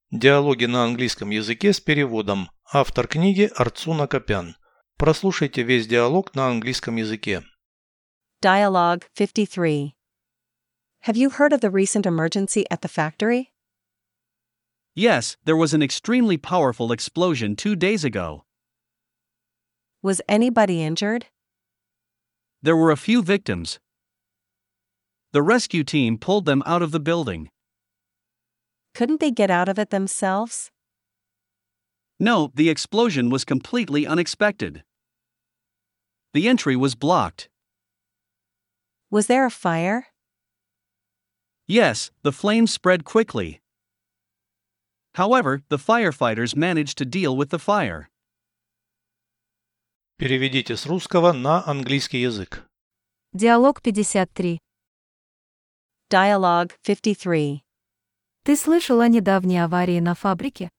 Диалоги на английском языке с переводом. Автор книги Арцуна Копян. Прослушайте весь диалог на английском языке. Dialogue 53. Have you heard of the recent emergency at the factory? Yes, there was an extremely powerful explosion 2 days ago. Was anybody injured? There were a few victims. The rescue team pulled them out of the building. Couldn't they get out of it themselves? No, the explosion was completely unexpected. The entry was blocked. Was there a fire? Yes, the flames spread quickly. However, the firefighters managed to deal with the fire. Переведите с русского на английский язык. Диалог 53. Dialogue 53. Ты слышал о недавней аварии на фабрике?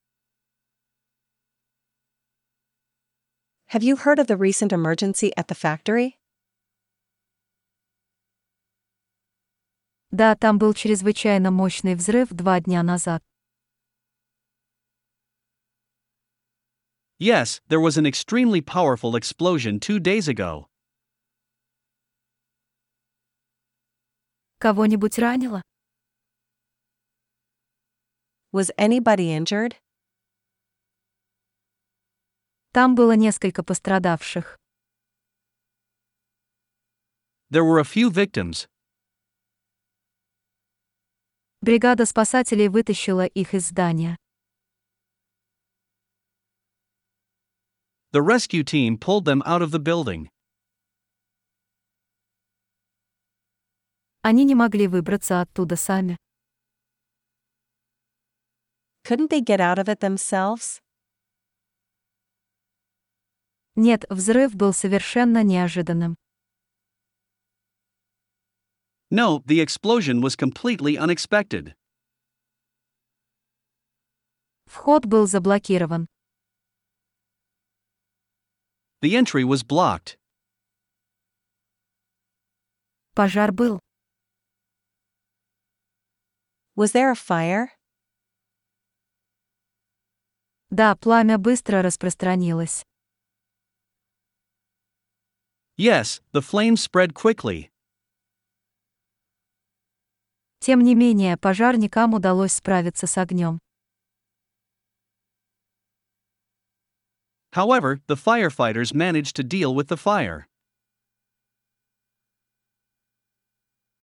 Have you heard of the recent emergency at the factory? Да, там был чрезвычайно мощный взрыв 2 дня назад. Yes, there was an extremely powerful explosion 2 days ago. Кого-нибудь ранило? Was anybody injured? Там было несколько пострадавших. There were a few victims. Бригада спасателей вытащила их из здания. The rescue team pulled them out of the building. Они не могли выбраться оттуда сами. Couldn't they get out of it themselves? Нет, взрыв был совершенно неожиданным. No, the explosion was completely unexpected. Вход был заблокирован. The entry was blocked. Пожар был. Was there a fire? Да, пламя быстро распространилось. Yes, the flames spread quickly. Тем не менее, пожарникам удалось справиться с огнем. However, the firefighters managed to deal with the fire.